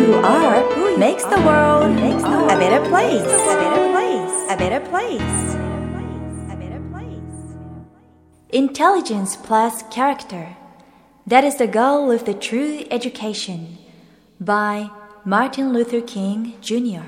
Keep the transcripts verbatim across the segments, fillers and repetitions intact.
you are makes the world a better place. A better place. A better place. A better place. Intelligence plus character. That is the goal of the true education. By Martin Luther King,ジュニア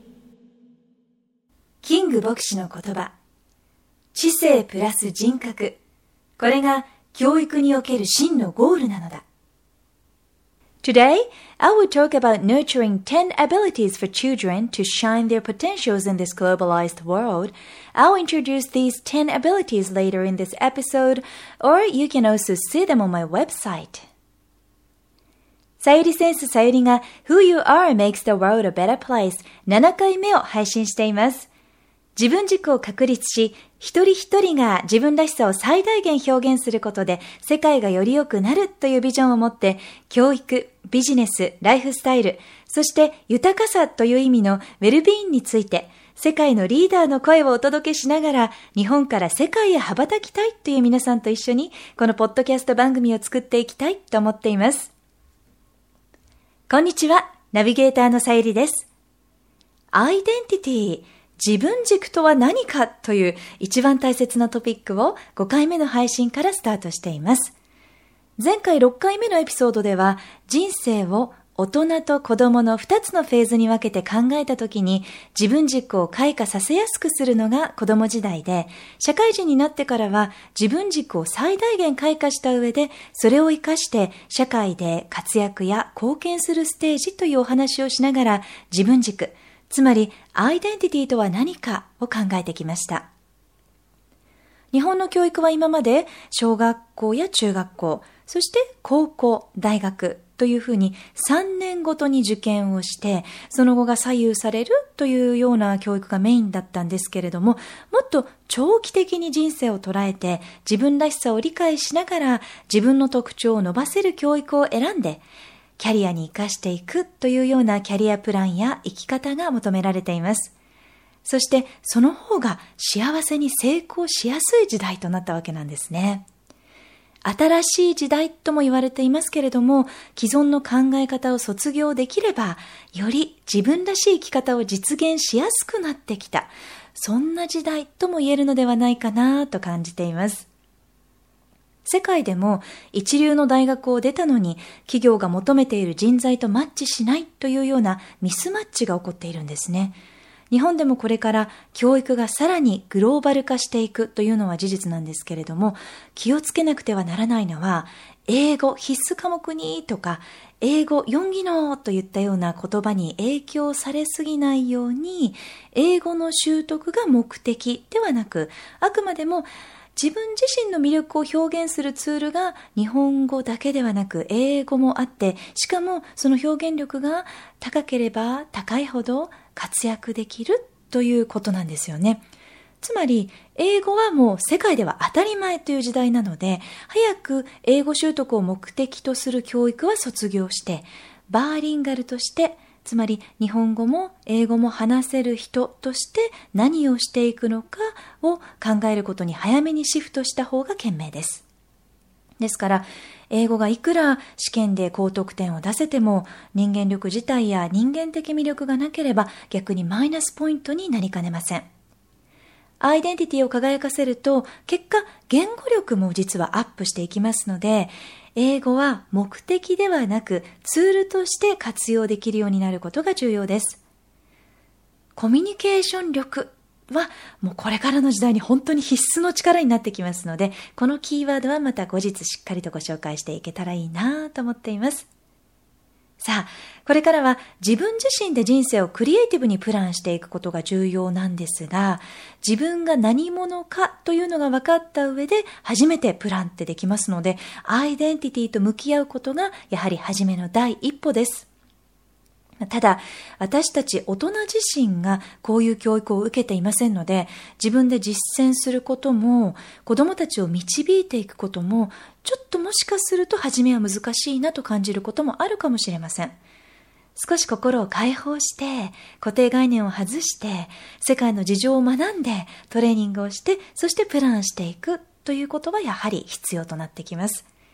キング牧師の言葉。知性プラス人格。これが教育における真のゴールなのだ。Today, I will talk about nurturing ten abilities for children to shine their potentials in this globalized world. I'll introduce these ten abilities later in this episode, or you can also see them on my website. さゆりセンスさゆりが Who You Are Makes the World a Better Place ななかいめを配信しています。自分軸を確立し、一人一人が自分らしさを最大限表現することで世界がより良くなるというビジョンを持って、教育、ビジネス、ライフスタイル、そして豊かさという意味のウェルビーインについて、世界のリーダーの声をお届けしながら、日本から世界へ羽ばたきたいという皆さんと一緒に、このポッドキャスト番組を作っていきたいと思っています。こんにちは、ナビゲーターのさゆりです。アイデンティティ、自分軸とは何かという一番大切なトピックをごかいめの配信からスタートしています。前回ろっかいめのエピソードでは、人生を大人と子供のふたつのフェーズに分けて考えたときに、自分軸を開花させやすくするのが子供時代で、社会人になってからは自分軸を最大限開花した上で、それを活かして社会で活躍や貢献するステージというお話をしながら、自分軸、つまりアイデンティティとは何かを考えてきました。日本の教育は今まで小学校や中学校、そして高校、大学というふうにさんねんごとに受験をして、その後が左右されるというような教育がメインだったんですけれども、もっと長期的に人生を捉えて自分らしさを理解しながら自分の特徴を伸ばせる教育を選んで、キャリアに生かしていくというようなキャリアプランや生き方が求められています。そしてその方が幸せに成功しやすい時代となったわけなんですね。新しい時代とも言われていますけれども、既存の考え方を卒業できれば、より自分らしい生き方を実現しやすくなってきた。そんな時代とも言えるのではないかなと感じています。世界でも一流の大学を出たのに企業が求めている人材とマッチしないというようなミスマッチが起こっているんですね。日本でもこれから教育がさらにグローバル化していくというのは事実なんですけれども、気をつけなくてはならないのは、英語必須科目にとか、英語よん技能といったような言葉に影響されすぎないように、英語の習得が目的ではなく、あくまでも自分自身の魅力を表現するツールが日本語だけではなく英語もあって、しかもその表現力が高ければ高いほど活躍できるということなんですよね。つまり英語はもう世界では当たり前という時代なので、早く英語習得を目的とする教育は卒業して、バーリンガルとして、つまり日本語も英語も話せる人として何をしていくのかを考えることに早めにシフトした方が賢明です。ですから英語がいくら試験で高得点を出せても、人間力自体や人間的魅力がなければ逆にマイナスポイントになりかねません。アイデンティティを輝かせると、結果言語力も実はアップしていきますので、英語は目的ではなくツールとして活用できるようになることが重要です。コミュニケーション力はもうこれからの時代に本当に必須の力になってきますので、このキーワードはまた後日しっかりとご紹介していけたらいいなと思っています。さあ、これからは自分自身で人生をクリエイティブにプランしていくことが重要なんですが、自分が何者かというのが分かった上で初めてプランってできますので、アイデンティティと向き合うことがやはり初めの第一歩です。ただ、私たち大人自身がこういう教育を受けていませんので、自分で実践することも、子どもたちを導いていくことも、ちょっともしかすると初めは難しいなと感じることもあるかもしれません。少し心を解放して、固定概念を外して、世界の事情を学んで、トレーニングをして、そしてプランしていくということはやはり必要となってきます。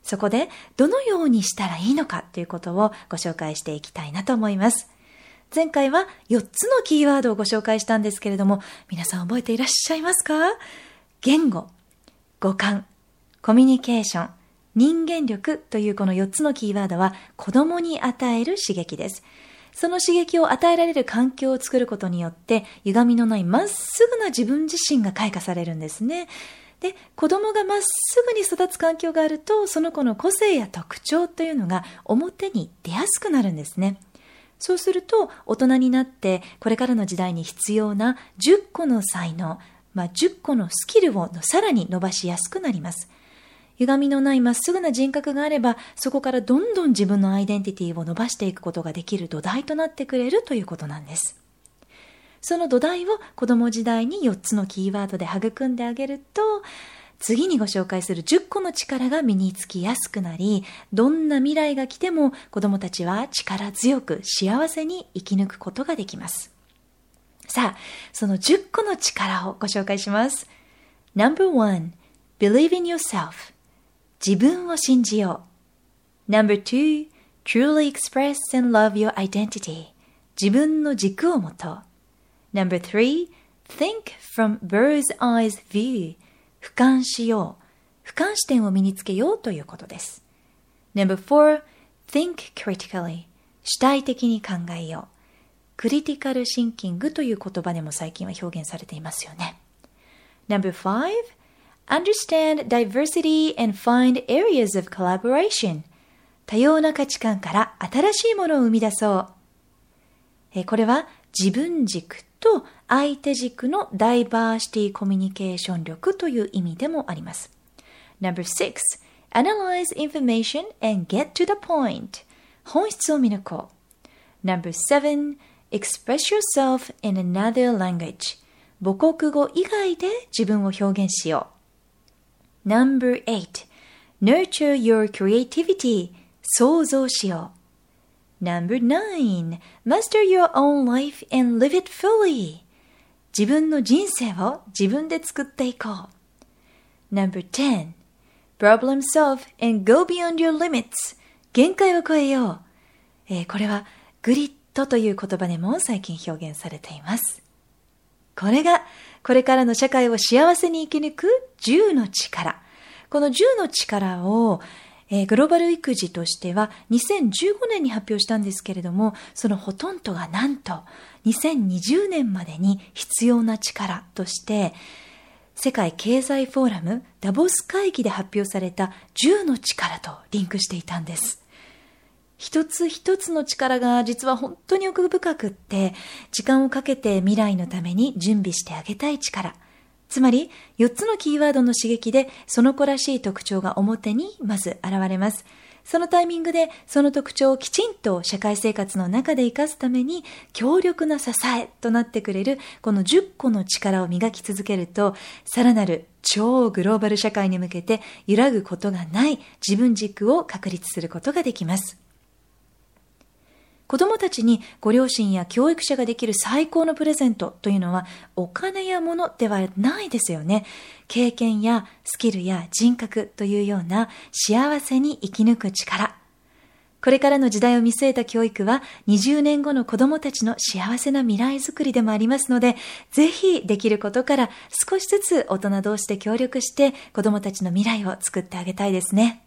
そこでどのようにしたらいいのかということをご紹介していきたいなと思います。前回はよっつのキーワードをご紹介したんですけれども、皆さん覚えていらっしゃいますか？言語、五感、コミュニケーション、人間力というこのよっつのキーワードは子供に与える刺激です。その刺激を与えられる環境を作ることによって歪みのないまっすぐな自分自身が開花されるんですね。で、子供がまっすぐに育つ環境があると、その子の個性や特徴というのが表に出やすくなるんですね。そうすると、大人になってこれからの時代に必要なじゅっこの才能、まあ、じゅっこのスキルをさらに伸ばしやすくなります。歪みのないまっすぐな人格があれば、そこからどんどん自分のアイデンティティを伸ばしていくことができる土台となってくれるということなんです。その土台を子供時代によっつのキーワードで育んであげると、次にご紹介するじゅっこの力が身につきやすくなり、どんな未来が来ても子供たちは力強く幸せに生き抜くことができます。さあ、そのじゅっこの力をご紹介します。ナンバーワン、Believe in yourself。自分を信じよう。ナンバーツー、Truly express and love your identity。自分の軸を持とう。ナンバースリー、Think from bird's eyes view。俯瞰しよう。俯瞰視点を身につけようということです。ナンバーフォー、Think critically。主体的に考えよう。クリティカルシンキングという言葉でも最近は表現されていますよね。ナンバーファイブ、Understand diversity and find areas of collaboration。多様な価値観から新しいものを生み出そう。えこれは自分軸と相手軸のダイバーシティコミュニケーション力という意味でもあります。ナンバーシックス、Analyze information and get to the point。本質を見抜こう。ナンバーセブン、Express yourself in another language。母国語以外で自分を表現しよう。ナンバーエイト、Nurture your creativity。想像しよう。ナンバーナイン、Master your own life and live it fully。自分の人生を自分で作っていこう。ナンバーテン、Problem solve and go beyond your limits。限界を超えよう。えー、これはグリッドという言葉でも最近表現されています。これがこれからの社会を幸せに生き抜くじゅうの力。このじゅうの力をえー、グローバル育児としてはにせんじゅうごねんに発表したんですけれども、そのほとんどがなんとにせんにじゅうねんまでに必要な力として世界経済フォーラムダボス会議で発表されたじゅうの力とリンクしていたんです。一つ一つの力が実は本当に奥深くって、時間をかけて未来のために準備してあげたい力。つまりよっつのキーワードの刺激でその子らしい特徴が表にまず現れます。そのタイミングでその特徴をきちんと社会生活の中で生かすために強力な支えとなってくれるこのじゅっこの力を磨き続けると、さらなる超グローバル社会に向けて揺らぐことがない自分軸を確立することができます。子供たちにご両親や教育者ができる最高のプレゼントというのはお金や物ではないですよね。経験やスキルや人格というような幸せに生き抜く力。これからの時代を見据えた教育はにじゅうねんごの子供たちの幸せな未来づくりでもありますので、ぜひできることから少しずつ大人同士で協力して子供たちの未来を作ってあげたいですね。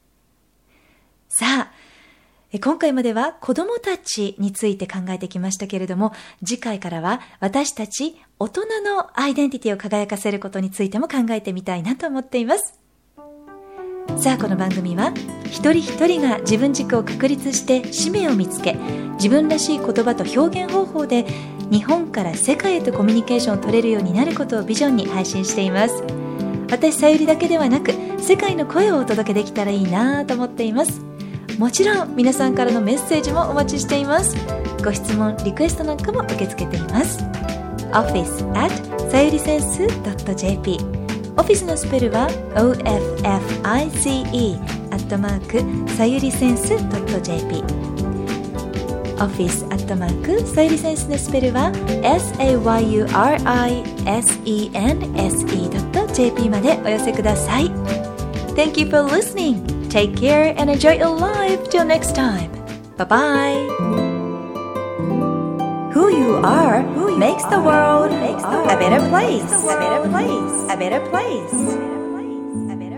さあ、今回までは子供たちについて考えてきましたけれども、次回からは私たち大人のアイデンティティを輝かせることについても考えてみたいなと思っています。さあ、この番組は一人一人が自分軸を確立して使命を見つけ、自分らしい言葉と表現方法で日本から世界へとコミュニケーションを取れるようになることをビジョンに配信しています。私さゆりだけではなく世界の声をお届けできたらいいなと思っています。もちろん皆さんからのメッセージもお待ちしています。ご質問、リクエストなんかも受け付けています。オフィス アット さゆりセンス ドット ジェーピー オフィスのスペルは オーエフエフアイシーイー アットマークさゆりセンス ドット ジェーピー オフィスアットマークさゆりセンスのスペルは エスエーワイユーアールアイエスイーエヌエスイー ドット ジェーピー までお寄せください。Thank you for listening. Take care and enjoy your life till next time. Bye-bye. Who you are who makes the world a better place. A better place. A better place.